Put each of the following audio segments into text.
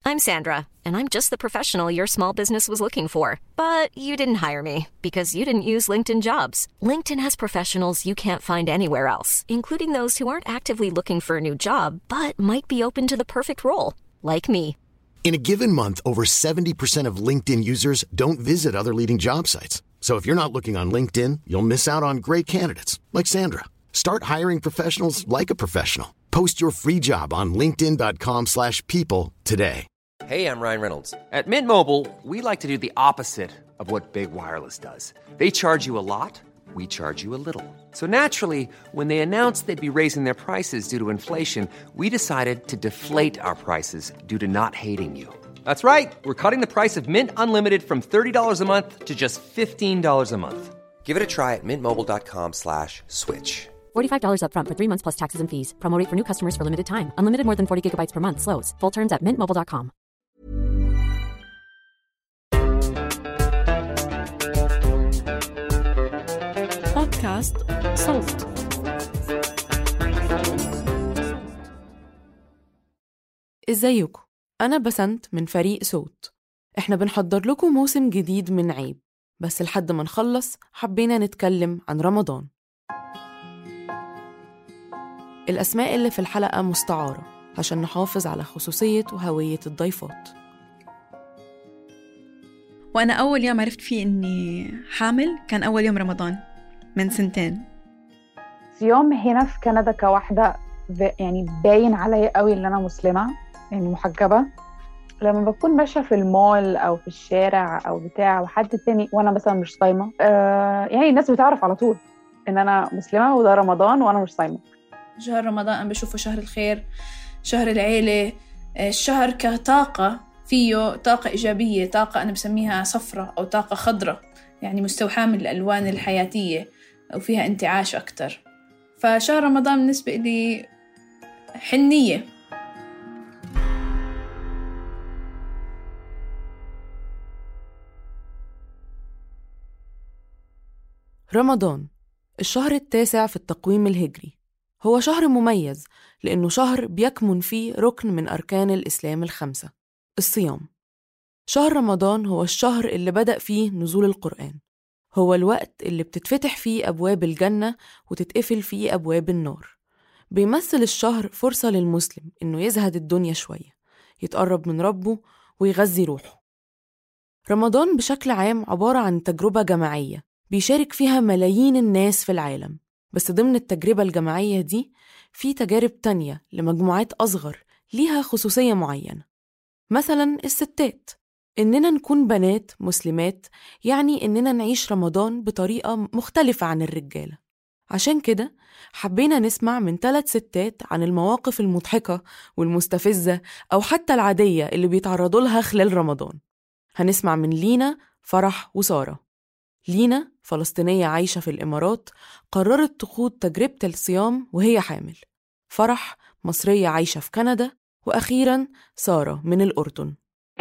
I'm Sandra, and I'm just the professional your small business was looking for. But you didn't hire me because you didn't use LinkedIn Jobs. LinkedIn has professionals you can't find anywhere else, including those who aren't actively looking for a new job, but might be open to the perfect role, like me. In a given month, over 70% of LinkedIn users don't visit other leading job sites. So if you're not looking on LinkedIn, you'll miss out on great candidates like Sandra. Start hiring professionals like a professional. Post your free job on linkedin.com/people today. Hey, I'm Ryan Reynolds. At Mint Mobile, we like to do the opposite of what Big Wireless does. They charge you a lot, we charge you a little. So naturally, when they announced they'd be raising their prices due to inflation, we decided to deflate our prices due to not hating you. That's right. We're cutting the price of Mint Unlimited from $30 a month to just $15 a month. Give it a try at mintmobile.com/switch. $45 up front for 3 months plus taxes and fees. Promo rate for new customers for limited time. Unlimited more than 40 gigabytes per month. Slows full terms at mintmobile.com. بودكاست صوت. ازيكم؟ أنا بسنت من فريق صوت. إحنا بنحضر لكم موسم جديد من عيب، بس لحد ما نخلص حبينا نتكلم عن رمضان. الأسماء اللي في الحلقة مستعارة عشان نحافظ على خصوصية وهوية الضيفات. وأنا أول يوم عرفت فيه إني حامل كان أول يوم رمضان من 2 سنين. يوم هنا في كندا كواحدة يعني باين عليا قوي إن أنا مسلمة، يعني محجبة. لما بكون ماشية في المول أو في الشارع أو بتاع وحد تاني وأنا مثلا مش صايمة، يعني الناس بتعرف على طول إن أنا مسلمة وده رمضان وأنا مش صايمة. شهر رمضان أنا بشوفه شهر الخير، شهر العيلة، الشهر كطاقة، فيه طاقة إيجابية، طاقة أنا بسميها صفرة أو طاقة خضرة، يعني مستوحاة من الألوان الحياتية وفيها انتعاش أكتر. فشهر رمضان بالنسبة لي حنية. رمضان الشهر 9 في التقويم الهجري، هو شهر مميز لأنه شهر بيكمن فيه ركن من أركان الإسلام 5، الصيام. شهر رمضان هو الشهر اللي بدأ فيه نزول القرآن، هو الوقت اللي بتتفتح فيه أبواب الجنة وتتقفل فيه أبواب النار. بيمثل الشهر فرصة للمسلم إنه يزهد الدنيا شوية، يتقرب من ربه ويغذي روحه. رمضان بشكل عام عبارة عن تجربة جماعية بيشارك فيها ملايين الناس في العالم، بس ضمن التجربة الجماعية دي في تجارب تانية لمجموعات أصغر ليها خصوصية معينة. مثلا الستات، إننا نكون بنات مسلمات يعني إننا نعيش رمضان بطريقة مختلفة عن الرجالة. عشان كده حبينا نسمع من 3 ستات عن المواقف المضحكة والمستفزة أو حتى العادية اللي بيتعرضوا لها خلال رمضان. هنسمع من لينا، فرح وسارة. لينا فلسطينية عايشة في الإمارات، قررت تخوض تجربة الصيام وهي حامل. فرح مصرية عايشة في كندا، وأخيراً سارة من الأردن.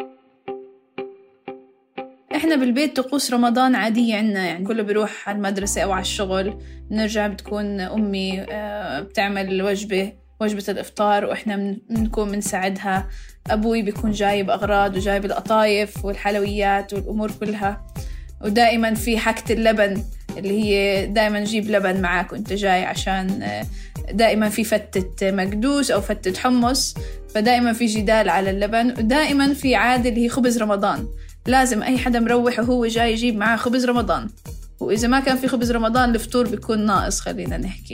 إحنا بالبيت طقوس رمضان عادية عنا، يعني كله بيروح على المدرسة أو على الشغل، نرجع بتكون أمي بتعمل وجبة الإفطار وإحنا بنكون بنساعدها. أبوي بيكون جايب أغراض وجايب القطايف والحلويات والأمور كلها، ودائما في حكة اللبن اللي هي دائما جيب لبن معاك وانت جاي، عشان دائما في فتة مقدوس أو فتة حمص، فدائما في جدال على اللبن. ودائما في عادة اللي هي خبز رمضان، لازم أي حدا مروح وهو جاي يجيب معاه خبز رمضان، وإذا ما كان في خبز رمضان الفطور بيكون ناقص. خلينا نحكي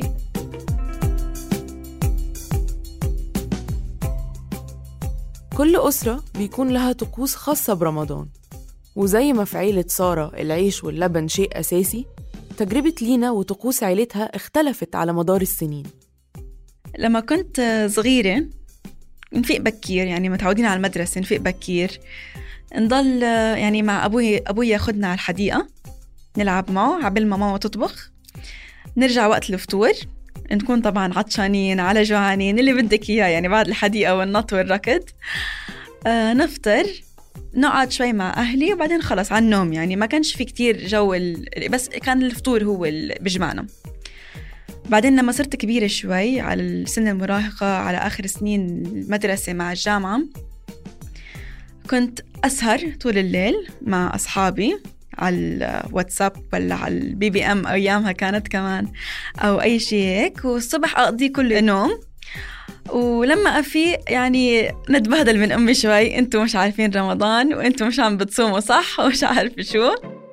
كل أسرة بيكون لها طقوس خاصة برمضان، وزي ما في عيلة سارة العيش واللبن شيء أساسي، تجربة لينا وطقوس عيلتها اختلفت على مدار السنين. لما كنت صغيرة نفيق بكير، يعني متعودين على المدرسة نفيق بكير، نضل يعني مع أبوي ياخدنا على الحديقة نلعب معه عبال ما ماما تطبخ، نرجع وقت الفطور نكون طبعا عطشانين على جوعانين اللي بدك إياه، يعني بعد الحديقة والنط والركض. نفطر، نقعد شوي مع أهلي وبعدين خلص على النوم. يعني ما كانش في كتير جو بس كان الفطور هو اللي بيجمعنا. بعدين لما صرت كبيرة شوي على السن المراهقة، على آخر سنين المدرسة مع الجامعة، كنت أسهر طول الليل مع أصحابي على الواتساب ولا على الBBM أيامها كانت كمان، أو أي شيء هيك، والصبح أقضي كل نوم. ولما أفيق يعني نتبهدل من أمي شوي، أنتوا مش عارفين رمضان وأنتوا مش عم بتصوموا صح ومش عارف شو.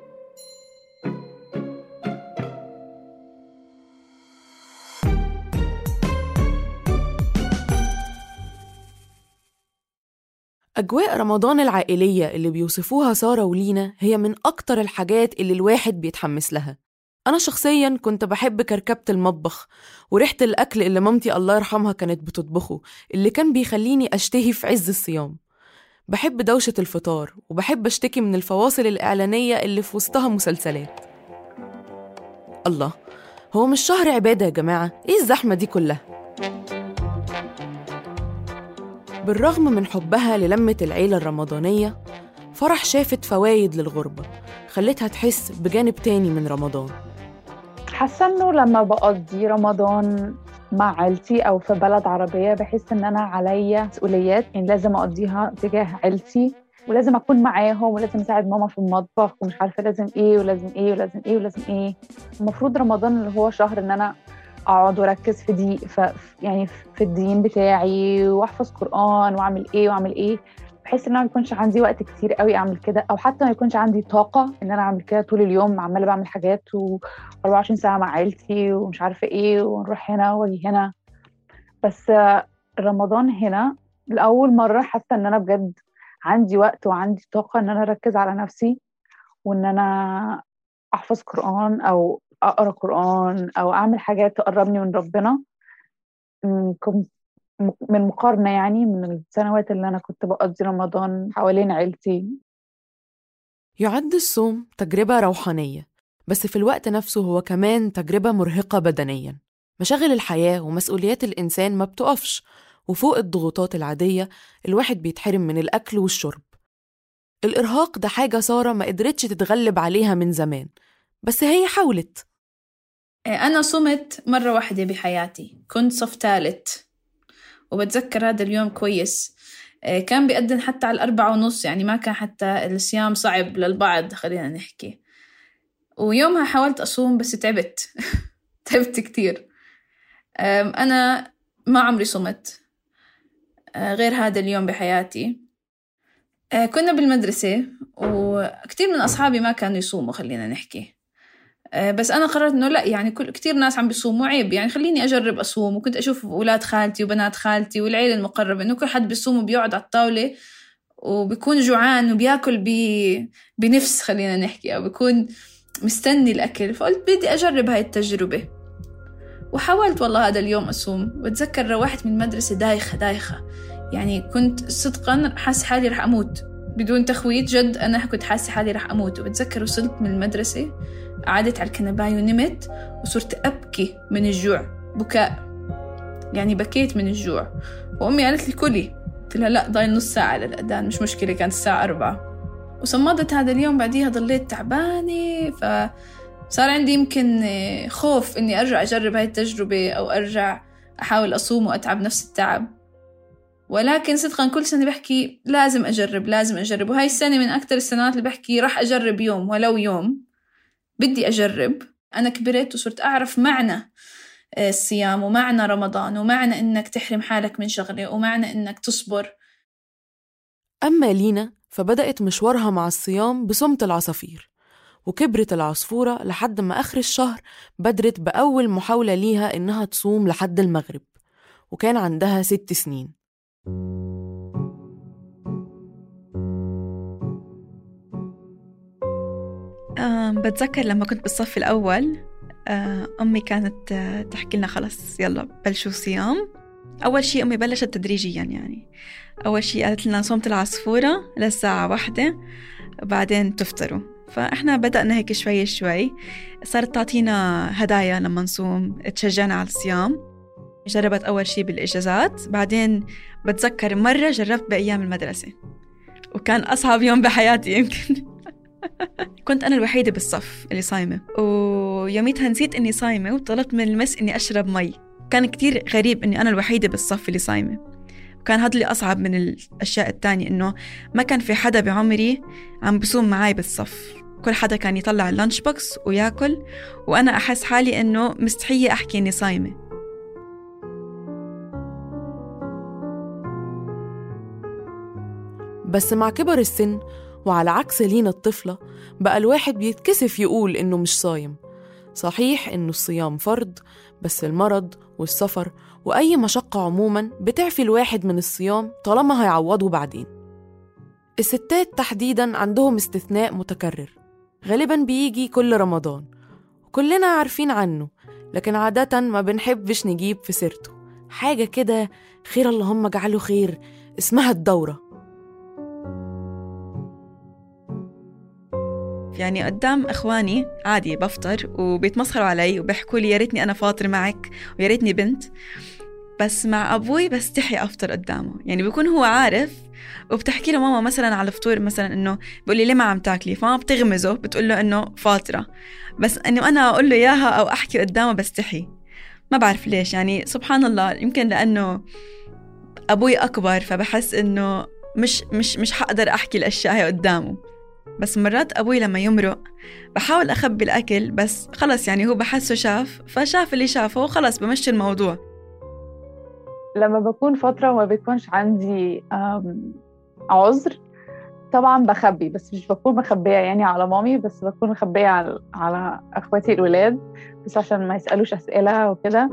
أجواء رمضان العائلية اللي بيوصفوها سارة ولينا هي من أكتر الحاجات اللي الواحد بيتحمس لها. أنا شخصياً كنت بحب كركبة المطبخ وريحة الأكل اللي مامتي الله يرحمها كانت بتطبخه، اللي كان بيخليني أشتهي في عز الصيام. بحب دوشة الفطار، وبحب أشتكي من الفواصل الإعلانية اللي في وسطها مسلسلات. الله، هو مش شهر عبادة يا جماعة؟ إيه الزحمة دي كلها؟ بالرغم من حبها للمة العيلة الرمضانية، فرح شافت فوايد للغربة خلتها تحس بجانب تاني من رمضان. حاسة إنه لما بقضي رمضان مع عيلتي أو في بلد عربية بحس إن أنا عليا مسؤوليات، يعني لازم أقضيها تجاه عيلتي، ولازم أكون معاهم، ولازم أساعد ماما في المطبخ، ومش عارفة لازم إيه ولازم إيه ولازم إيه ولازم إيه. المفروض رمضان اللي هو شهر إن أنا أقعد وركز يعني في الدين بتاعي، وأحفظ قرآن وأعمل إيه وأعمل إيه. بحس إن أنا ما يكونش عندي وقت كتير قوي أعمل كده، أو حتى ما يكونش عندي طاقة إن أنا أعمل كده طول اليوم، عمالة بعمل حاجات و24 ساعة مع عيلتي ومش عارفة إيه، ونروح هنا واجي هنا. بس رمضان هنا لأول مرة حاسة إن أنا بجد عندي وقت وعندي طاقة إن أنا أركز على نفسي، وإن أنا أحفظ قرآن أو أقرأ قرآن أو أعمل حاجات تقربني من ربنا، من مقارنة يعني من السنوات اللي أنا كنت بقضي رمضان حوالين عيلتي. يعد الصوم تجربة روحانية، بس في الوقت نفسه هو كمان تجربة مرهقة بدنياً. مشاغل الحياة ومسؤوليات الإنسان ما بتقفش، وفوق الضغوطات العادية الواحد بيتحرم من الأكل والشرب. الإرهاق ده حاجة سارة ما قدرتش تتغلب عليها من زمان، بس هي حاولت. أنا صمت مرة واحدة بحياتي، كنت صف ثالث، وبتذكر هذا اليوم كويس. كان بيقدم حتى على 4:30، يعني ما كان حتى الصيام صعب للبعض خلينا نحكي. ويومها حاولت أصوم بس تعبت تعبت كتير. أنا ما عمري صمت غير هذا اليوم بحياتي. كنا بالمدرسة وكتير من أصحابي ما كانوا يصوموا خلينا نحكي، بس أنا قررت إنه لا، يعني كتير ناس عم بيصوموا عيب، يعني خليني أجرب أصوم. وكنت أشوف أولاد خالتي وبنات خالتي والعيلة المقربة إنه كل حد بيصوم وبيقعد على الطاولة وبيكون جوعان وبياكل بنفس خلينا نحكي، أو بيكون مستني الأكل. فقلت بدي أجرب هاي التجربة، وحاولت والله هذا اليوم أصوم. واتذكر روحت من المدرسة دايخة، يعني كنت صدقا حاسة حالي رح أموت بدون تخويت، جد أنا كنت حاسة حالي رح أموت. وبتذكر وصلت من المدرسة، قعدت على الكنباية ونمت، وصرت أبكي من الجوع، بكاء يعني بكيت من الجوع. وأمي قالت لي كلي، قلت لها لا ضايل نص ساعة للأذان، مش مشكلة، كانت الساعة 4. وصمدت هذا اليوم. بعديها ضليت تعبانة، فصار عندي يمكن خوف إني أرجع أجرب هاي التجربة، أو أرجع أحاول أصوم وأتعب نفس التعب. ولكن صدقاً كل سنة بحكي لازم أجرب. وهاي السنة من أكتر السنوات اللي بحكي راح أجرب يوم ولو يوم، بدي أجرب. أنا كبرت وصرت أعرف معنى الصيام، ومعنى رمضان، ومعنى إنك تحرم حالك من شغلة، ومعنى إنك تصبر. أما لينا فبدأت مشوارها مع الصيام بصمت العصافير، وكبرت العصفورة لحد ما آخر الشهر بدرت بأول محاولة ليها إنها تصوم لحد المغرب، وكان عندها 6 سنين. بتذكر لما كنت بالصف الأول، أمي كانت تحكي لنا خلص يلا بلشوا صيام. أول شيء أمي بلشت تدريجيا، يعني أول شيء قالت لنا صومت العصفورة للساعة 1 وبعدين تفطروا. فإحنا بدأنا هيك شوي شوي، صارت تعطينا هدايا لما نصوم تشجعنا على الصيام. جربت أول شيء بالإجازات، بعدين بتذكر مرة جربت بأيام المدرسة وكان أصعب يوم بحياتي يمكن. كنت أنا الوحيدة بالصف اللي صايمة، ويوميتها نسيت إني صايمة وطلبت من المس إني أشرب مي. كان كتير غريب إني أنا الوحيدة بالصف اللي صايمة. وكان هذا اللي أصعب من الأشياء التانية، إنه ما كان في حدا بعمري عم بصوم معاي بالصف. كل حدا كان يطلع اللانش بوكس وياكل، وأنا أحس حالي إنه مستحية أحكي إني صايمة. بس مع كبر السن وعلى عكس لينا الطفلة بقى الواحد بيتكسف يقول إنه مش صايم. صحيح إنه الصيام فرض، بس المرض والسفر وأي مشقة عموماً بتعفي الواحد من الصيام طالما هيعوضه بعدين. الستات تحديداً عندهم استثناء متكرر غالباً بيجي كل رمضان وكلنا عارفين عنه، لكن عادة ما بنحبش نجيب في سيرته. حاجة كده خير اللهم اجعله خير، اسمها الدورة. يعني قدام إخواني عادي بفطر وبيتمسخروا علي وبيحكوا لي يا ريتني أنا فاطر معك ويا ريتني بنت، بس مع أبوي بستحي أفطر قدامه. يعني بيكون هو عارف، وبتحكي له ماما مثلا على الفطور مثلا إنه بيقول لي ليه ما عم تاكلي، فما بتغمزه بتقول له إنه فاطرة، بس إنه أنا أقول له إياها أو أحكي قدامه بستحي. ما بعرف ليش، يعني سبحان الله، يمكن لأنه أبوي أكبر فبحس إنه مش حقدر أحكي الأشياء هي قدامه. بس مرات أبوي لما يمرق بحاول أخبي الأكل، بس خلص يعني هو بحسه شاف، فشاف اللي شافه وخلص بمشي الموضوع. لما بكون فترة وما بيكونش عندي عذر طبعا بخبي، بس مش بكون مخبية يعني على مامي، بس بكون مخبية على أخواتي الولاد، بس عشان ما يسألوش أسئلة وكده.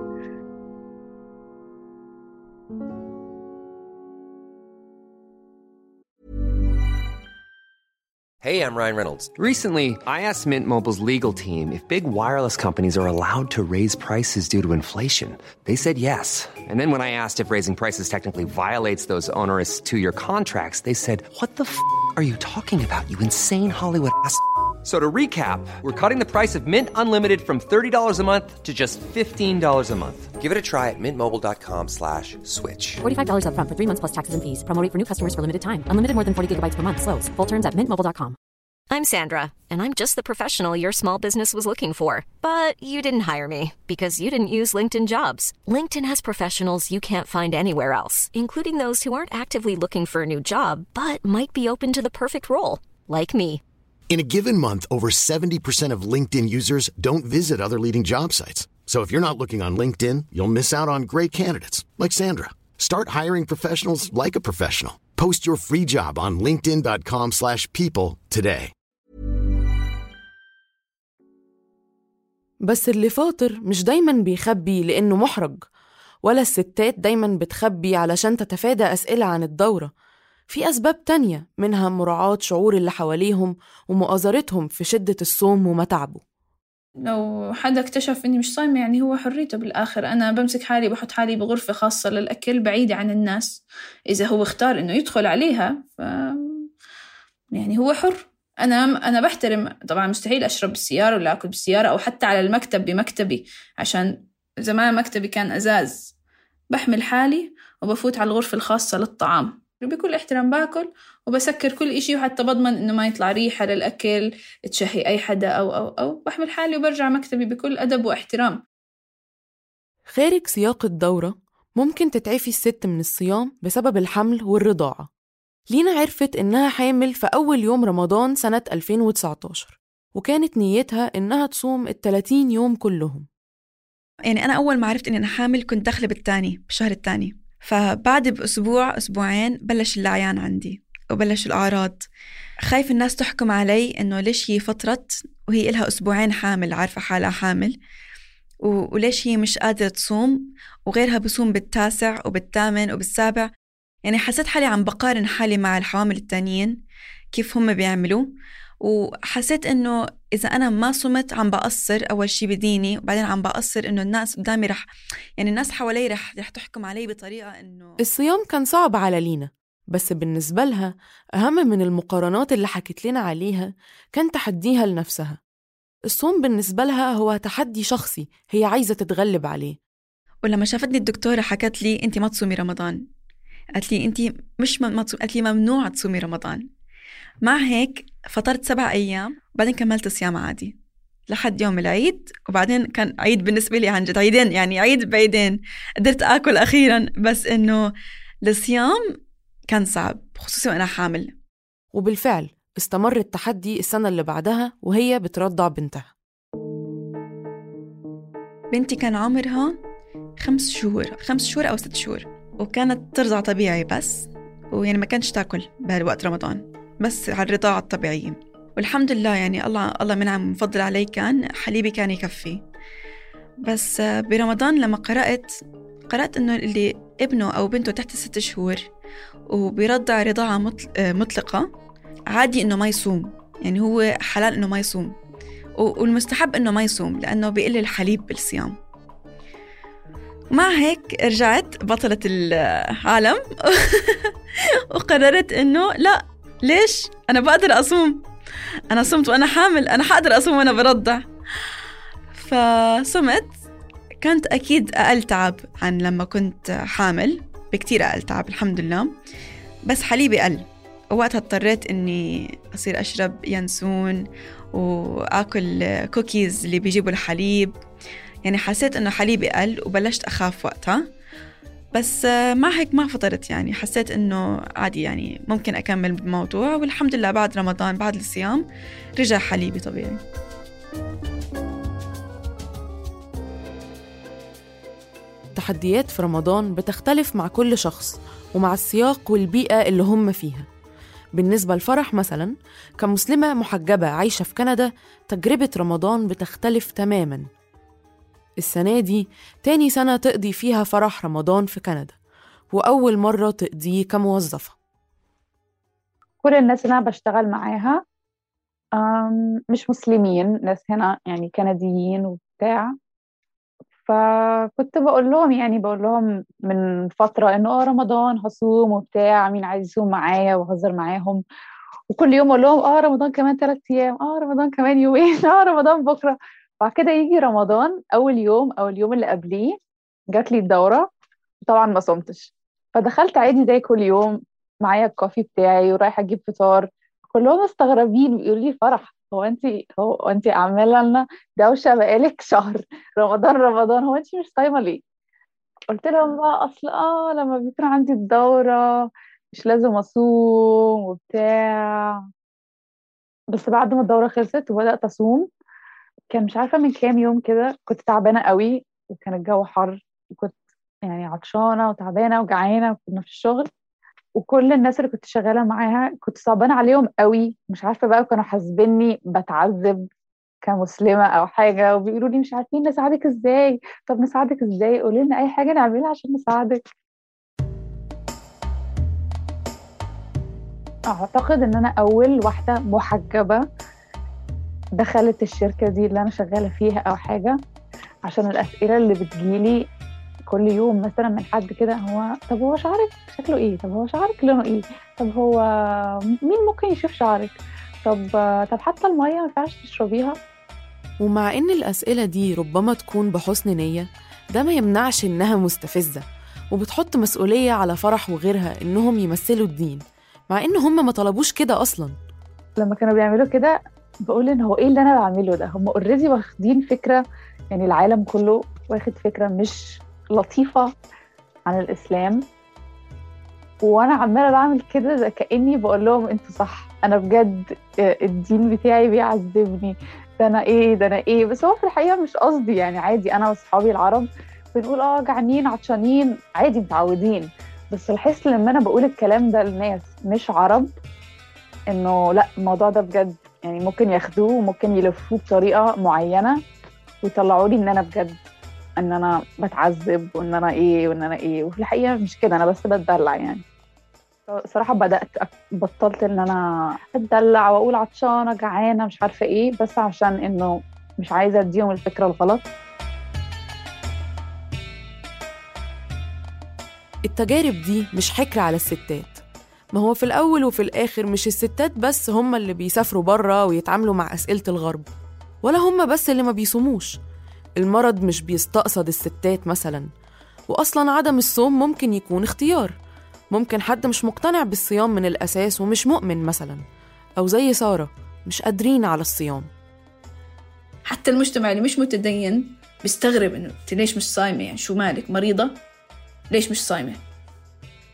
Hey, I'm Ryan Reynolds. Recently, I asked Mint Mobile's legal team if big wireless companies are allowed to raise prices due to inflation. They said yes. And then when I asked if raising prices technically violates those onerous two-year contracts, they said, "What the f*** are you talking about, you insane Hollywood ass?" So to recap, we're cutting the price of Mint Unlimited from $30 a month to just $15 a month. Give it a try at mintmobile.com/switch. $45 up front for 3 months plus taxes and fees. Promo rate for new customers for limited time. Unlimited more than 40 gigabytes per month. Slows full terms at mintmobile.com. I'm Sandra, and I'm just the professional your small business was looking for. But you didn't hire me because you didn't use LinkedIn Jobs. LinkedIn has professionals you can't find anywhere else, including those who aren't actively looking for a new job, but might be open to the perfect role, like me. In a given month, over 70% of LinkedIn users don't visit other leading job sites. So if you're not looking on LinkedIn, you'll miss out on great candidates like Sandra. Start hiring professionals like a professional. Post your free job on linkedin.com/people today. بس اللي فاطر مش دايماً بيخبي لأنه محرج، ولا الستات دايماً بتخبي علشان تتفادى أسئلة عن الدورة. في أسباب تانية، منها مراعاة شعور اللي حواليهم ومؤازرتهم في شدة الصوم ومتعبه. لو حدا اكتشف إني مش صايمة يعني هو حريته بالآخر. أنا بمسك حالي بحط حالي بغرفة خاصة للأكل بعيدة عن الناس. إذا هو اختار إنه يدخل عليها يعني هو حر. أنا بحترم طبعا. مستحيل أشرب بالسيارة ولا أكل بالسيارة أو حتى على المكتب بمكتبي، عشان زمان مكتبي كان أزاز. بحمل حالي وبفوت على الغرفة الخاصة للطعام بكل احترام، باكل وبسكر كل إشي، وحتى بضمن إنه ما يطلع ريحة للأكل تشهي أي حدا أو بحمل حالي وبرجع مكتبي بكل أدب واحترام. خارج سياق الدورة ممكن تتعفي الست من الصيام بسبب الحمل والرضاعة. لينا عرفت إنها حامل في أول يوم رمضان سنة 2019، وكانت نيتها إنها تصوم 30 يوم كلهم. يعني أنا أول ما عرفت إني أنا حامل كنت داخلة بالشهر الثاني، فبعد بأسبوع أسبوعين بلش العيان عندي وبلش الأعراض. خايف الناس تحكم علي إنه ليش هي فطرت وهي إلها أسبوعين حامل، عارفة حالها حامل، وليش هي مش قادرة تصوم وغيرها بصوم بالتاسع وبالثامن وبالسابع. يعني حسيت حالي عم بقارن حالي مع الحوامل التانيين كيف هم بيعملوا، وحسيت إنه إذا أنا ما صمت عم بقصر أول شي بديني، وبعدين عم بقصر إنه الناس قدامي يعني الناس حوالي رح تحكم علي بطريقة إنه. الصيام كان صعب على لينا، بس بالنسبة لها أهم من المقارنات اللي حكت لنا عليها كان تحديها لنفسها. الصوم بالنسبة لها هو تحدي شخصي هي عايزة تتغلب عليه. ولما شافتني الدكتورة حكت لي أنت ما تصومي رمضان، قالت لي أنت مش ما تصومي، قالت لي ممنوع تصومي رمضان. مع هيك فطرت 7 أيام وبعدين كملت صيام عادي لحد يوم العيد، وبعدين كان عيد بالنسبة لي عن جد عيدين، يعني عيد بعيدين قدرت أكل أخيرا. بس إنه الصيام كان صعب خصوصاً وأنا حامل. وبالفعل استمر التحدي السنة اللي بعدها وهي بترضع بنتها. بنتي كان عمرها 5 شهور أو 6 شهور، وكانت ترضع طبيعي بس، ويعني ما كانش تاكل بهالوقت رمضان، بس على الرضاعة الطبيعية. والحمد لله يعني الله منعم مفضل علي، كان حليبي كان يكفي. بس برمضان لما قرأت إنه اللي ابنه أو بنته تحت 6 شهور وبيرضع رضاعة مطلقة عادي إنه ما يصوم، يعني هو حلال إنه ما يصوم، والمستحب إنه ما يصوم لأنه بيقل الحليب بالصيام. ومع هيك رجعت بطلة العالم وقررت إنه لا، ليش أنا بقدر أصوم، أنا صمت وأنا حامل، أنا حقدر أصوم وأنا برضع. فصمت. كانت أكيد أقل تعب عن لما كنت حامل، بكتير أقل تعب الحمد لله، بس حليبي قل. ووقتها اضطريت إني أصير أشرب ينسون وأكل كوكيز اللي بيجيبوا الحليب، يعني حسيت إنه حليبي قل وبلشت أخاف وقتها. بس مع هيك ما فطرت، يعني حسيت إنه عادي، يعني ممكن أكمل بالموضوع. والحمد لله بعد رمضان بعد الصيام رجع حليبي طبيعي. التحديات في رمضان بتختلف مع كل شخص ومع السياق والبيئة اللي هم فيها. بالنسبة لفرح مثلا كمسلمة محجبة عايشة في كندا، تجربة رمضان بتختلف تماماً. السنة دي تاني سنة تقضي فيها فرح رمضان في كندا، وأول مرة تقضيه كموظفة. كل الناس اللي أنا بشتغل معاها مش مسلمين، ناس هنا يعني كنديين وبتاع. فكنت بقول لهم من فترة إنه رمضان هصوم وبتاع، مين عايز يصوم معايا، وهزر معاهم. وكل يوم أقول لهم رمضان كمان 3 أيام، رمضان كمان يومين، رمضان بكرة. بعد كده يجي رمضان أول يوم أو اليوم اللي قبليه جات لي الدورة، طبعا ما صمتش. فدخلت عادي زي كل يوم معايا الكوفي بتاعي ورايحة أجيب فطار. كلهم مستغربين بيقولوا لي فرح، هو انت عامله لنا دوشه بقالك شهر، رمضان، هو انت مش صايمه ليه؟ قلت لهم بقى اصل لما بيكون عندي الدوره مش لازم اصوم وبتاع. بس بعد ما الدوره خلصت وبدات اصوم، كان مش عارفه من كام يوم كده كنت تعبانه قوي، وكان الجو حر، وكنت يعني عطشانه وتعبانه وجعانه، وكنا في الشغل، وكل الناس اللي كنت شغالة معاها كنت صعبانة عليهم قوي. مش عارفة بقى، كانوا حاسبيني بتعذب كمسلمة أو حاجة، وبيقولوا لي مش عارفين نساعدك إزاي. طب نساعدك إزاي؟ قولي لنا أي حاجة نعملها عشان نساعدك. أعتقد إن أنا أول واحدة محجبة دخلت الشركة دي اللي أنا شغالة فيها أو حاجة، عشان الأسئلة اللي بتجيلي كل يوم مثلا من حد كده، طب هو شعرك شكله ايه؟ طب هو شعرك لونه ايه؟ طب هو مين ممكن يشوف شعرك؟ طب حتى المية ما ينفعش تشربيها؟ ومع إن الأسئلة دي ربما تكون بحسن نية، ده ما يمنعش إنها مستفزة وبتحط مسؤولية على فرح وغيرها إنهم يمثلوا الدين، مع إن هم ما طلبوش كده أصلا. لما كانوا بيعملوا كده بقول إن هو إيه اللي أنا بعمله ده؟ هم اوريدي واخدين فكرة، يعني العالم كله واخد فكرة مش لطيفة عن الإسلام، وأنا عمالة بعمل كده زي كأني بقول لهم أنتوا صح، أنا بجد الدين بتاعي بيعذبني، ده أنا إيه. بس هو في الحقيقة مش قصدي، يعني عادي أنا وصحابي العرب بنقول جعانين عطشانين عادي متعودين. بس الحس لما أنا بقول الكلام ده للناس مش عرب، إنه لا، الموضوع ده بجد يعني ممكن ياخدوه وممكن يلفوه بطريقة معينة ويطلعوا لي إن أنا بجد ان انا بتعذب وان انا ايه. وفي الحقيقه مش كده، انا بس بتدلع يعني. صراحه بطلت ان انا اتدلع واقول عطشانه جعانه مش عارفه ايه، بس عشان انه مش عايزه اديهم الفكره الغلط. التجارب دي مش حكر على الستات، ما هو في الاول وفي الاخر مش الستات بس هم اللي بيسافروا بره ويتعاملوا مع اسئله الغرب، ولا هم بس اللي ما بيصوموش. المرض مش بيستقصد الستات مثلا، وأصلا عدم الصوم ممكن يكون اختيار. ممكن حد مش مقتنع بالصيام من الأساس ومش مؤمن مثلا، أو زي سارة مش قادرين على الصيام. حتى المجتمع اللي مش متدين بيستغرب إنه ليش مش صايمة، يعني شو مالك مريضة؟ ليش مش صايمة؟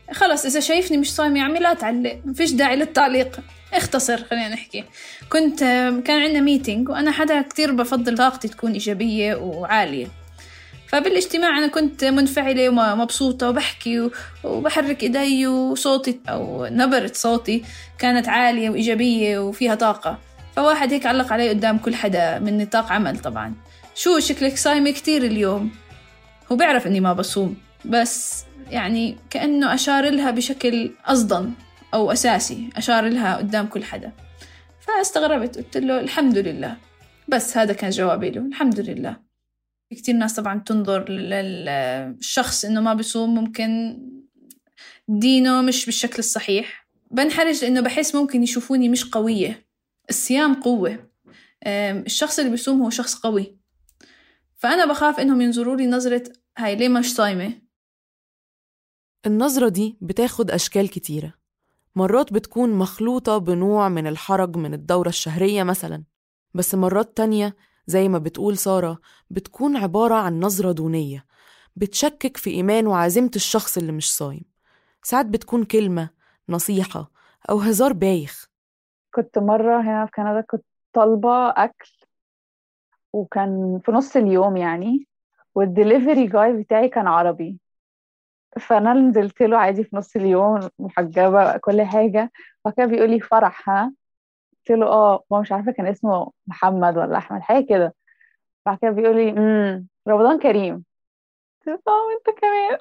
خلص إذا شايفني مش صايم يا عمي لا تعلق، مفيش داعي للتعليق، اختصر. خلينا نحكي كان عندنا ميتينج وأنا حدا كتير بفضل طاقتي تكون إيجابية وعالية، فبالاجتماع أنا كنت منفعلة ومبسوطة وبحكي وبحرك إيدي وصوتي أو نبرة صوتي كانت عالية وإيجابية وفيها طاقة. فواحد هيك علق علي قدام كل حدا من نطاق عمل طبعا، شو شكلك صايمة كتير اليوم. هو بيعرف إني ما بصوم، بس يعني كأنه أشار لها بشكل أصدن أو أساسي، أشار لها قدام كل حدا. فاستغربت، قلت له الحمد لله، بس هذا كان جوابي له، الحمد لله. كتير ناس طبعا تنظر للشخص إنه ما بيصوم، ممكن دينه مش بالشكل الصحيح. بنحرج لأنه بحس ممكن يشوفوني مش قوية. الصيام قوة، الشخص اللي بيصوم هو شخص قوي، فأنا بخاف إنهم ينظروا لي نظرة هاي ليه مش صايمة. النظرة دي بتاخد أشكال كتيرة، مرات بتكون مخلوطة بنوع من الحرج من الدورة الشهرية مثلا، بس مرات تانية زي ما بتقول سارة بتكون عبارة عن نظرة دونية بتشكك في إيمان وعزيمة الشخص اللي مش صايم. ساعات بتكون كلمة، نصيحة، أو هزار بايخ. كنت مرة هنا في كندا كنت طالبة أكل وكان في نص اليوم يعني، والدليفري جاي بتاعي كان عربي، فأنا نزلت له عادي في نص اليوم محجبة كل حاجة، فكان بيقول لي فرح ها؟ قلت له هو مش عارفة كان اسمه محمد ولا أحمد حاجة كده، بعد كده بيقول لي رمضان كريم. قلت له وانت كمان.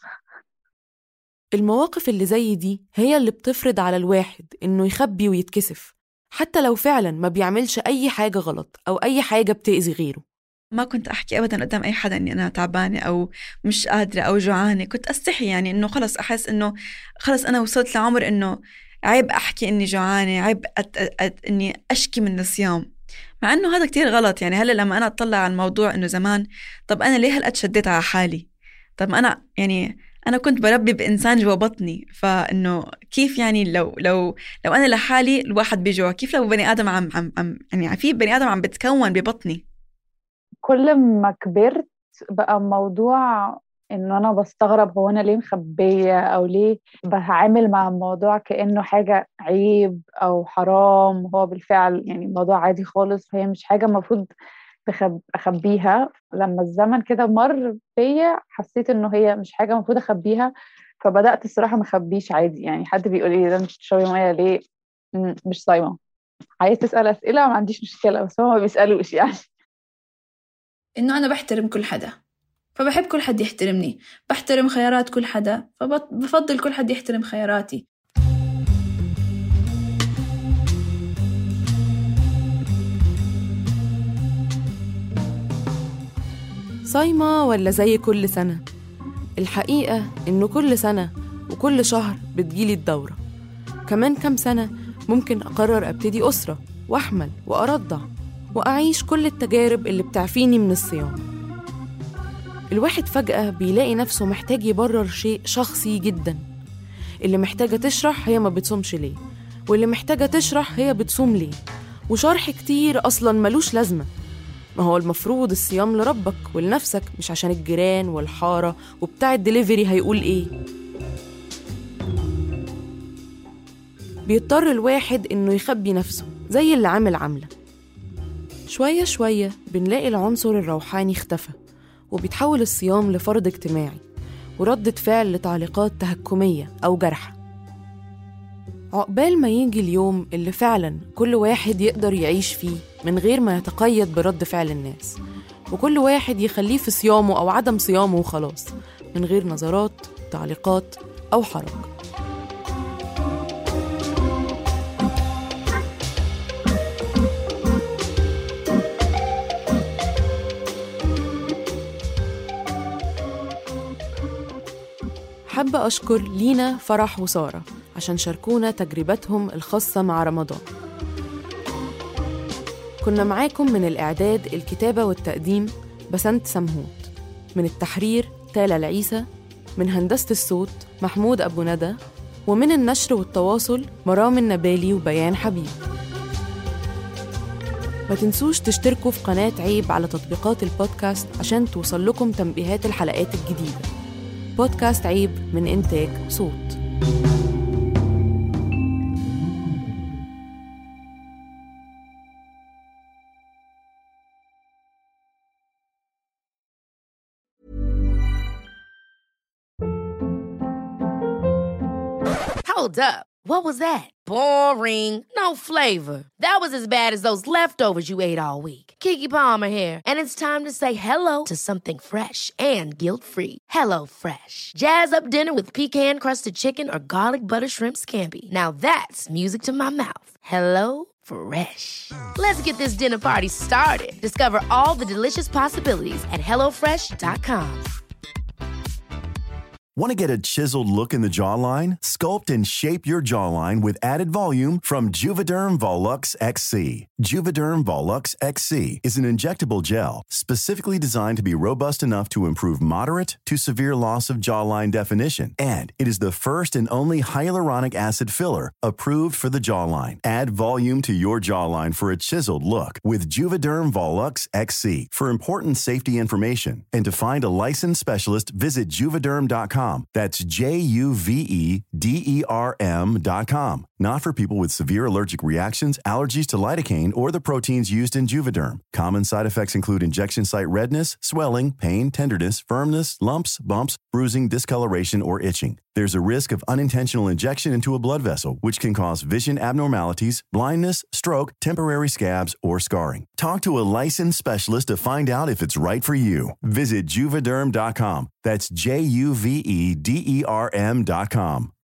المواقف اللي زي دي هي اللي بتفرض على الواحد إنه يخبي ويتكسف، حتى لو فعلا ما بيعملش أي حاجة غلط أو أي حاجة بتأذي غيره. ما كنت أحكي أبدا قدام أي حدا إني أنا تعبانة أو مش قادرة أو جوعانة، كنت أستحي يعني إنه خلص أحس إنه خلص أنا وصلت لعمر إنه عيب أحكي إني جوعانة، عيب إني أشكي من الصيام، مع إنه هذا كتير غلط. يعني هلا لما أنا أطلع على الموضوع إنه زمان، طب أنا ليه هلأ شديت على حالي؟ طب أنا كنت بربي بإنسان جوا بطني، فإنه كيف يعني لو أنا لحالي الواحد بيجوع، كيف لو بني آدم عم يعني في بني آدم عم بتكون ببطني. كل ما كبرت بقى موضوع إنه أنا بستغرب هو أنا ليه مخبية أو ليه بتعامل مع الموضوع كأنه حاجة عيب أو حرام. هو بالفعل يعني موضوع عادي خالص، فهي مش حاجة مفروض أخبيها. لما الزمن كده مر فيا حسيت إنه هي مش حاجة مفروض أخبيها، فبدأت الصراحة مخبيش عادي. يعني حد بيقول لي ده مش تشربي مية ليه؟ مش صايمة. عايز تسأل أسئلة ما عنديش مشكلة، بس هو ما بيسألوش يعني. إنه أنا بحترم كل حدا، فبحب كل حد يحترمني، بحترم خيارات كل حدا، فبفضل كل حد يحترم خياراتي. صايمة ولا زي كل سنة؟ الحقيقة إنه كل سنة وكل شهر بتجيلي الدورة. كمان كام سنة ممكن أقرر أبتدي أسرة وأحمل وأرضع وأعيش كل التجارب اللي بتعفيني من الصيام. الواحد فجأة بيلاقي نفسه محتاج يبرر شيء شخصي جدا. اللي محتاجة تشرح هي ما بتصومش ليه، واللي محتاجة تشرح هي بتصوم ليه، وشرح كتير أصلا ملوش لازمة. ما هو المفروض الصيام لربك ولنفسك، مش عشان الجيران والحارة وبتاع الدليفري هيقول إيه. بيضطر الواحد إنه يخبي نفسه زي اللي عاملة. شوية شوية بنلاقي العنصر الروحاني اختفى، وبيتحول الصيام لفرض اجتماعي وردة فعل لتعليقات تهكمية أو جرحة. عقبال ما يجي اليوم اللي فعلا كل واحد يقدر يعيش فيه من غير ما يتقيد برد فعل الناس، وكل واحد يخليه في صيامه أو عدم صيامه وخلاص، من غير نظرات، تعليقات أو حرج. حابة أشكر لينا، فرح وسارة عشان شاركونا تجربتهم الخاصة مع رمضان. كنا معاكم من الإعداد، الكتابة والتقديم بسنت سمهوت، من التحرير تالا العيسى، من هندسة الصوت محمود أبو ندى، ومن النشر والتواصل مرام النبالي وبيان حبيب. ما تنسوش تشتركوا في قناة عيب على تطبيقات البودكاست عشان توصل لكم تنبيهات الحلقات الجديدة. بودكاست عيب من إنتاج صوت. Hold up. What was that? Boring. No flavor. That was as bad as those leftovers you ate all week. Keke Palmer here, and it's time to say hello to something fresh and guilt-free. Hello Fresh. Jazz up dinner with pecan-crusted chicken or garlic butter shrimp scampi. Now that's music to my mouth. Hello Fresh. Let's get this dinner party started. Discover all the delicious possibilities at hellofresh.com. Want to get a chiseled look in the jawline? Sculpt and shape your jawline with added volume from Juvederm Volux XC. Juvederm Volux XC is an injectable gel specifically designed to be robust enough to improve moderate to severe loss of jawline definition. And it is the first and only hyaluronic acid filler approved for the jawline. Add volume to your jawline for a chiseled look with Juvederm Volux XC. For important safety information and to find a licensed specialist, visit Juvederm.com. That's Juvederm.com. Not for people with severe allergic reactions, allergies to lidocaine, or the proteins used in Juvederm. Common side effects include injection site redness, swelling, pain, tenderness, firmness, lumps, bumps, bruising, discoloration, or itching. There's a risk of unintentional injection into a blood vessel, which can cause vision abnormalities, blindness, stroke, temporary scabs, or scarring. Talk to a licensed specialist to find out if it's right for you. Visit Juvederm.com. That's Juvederm.com.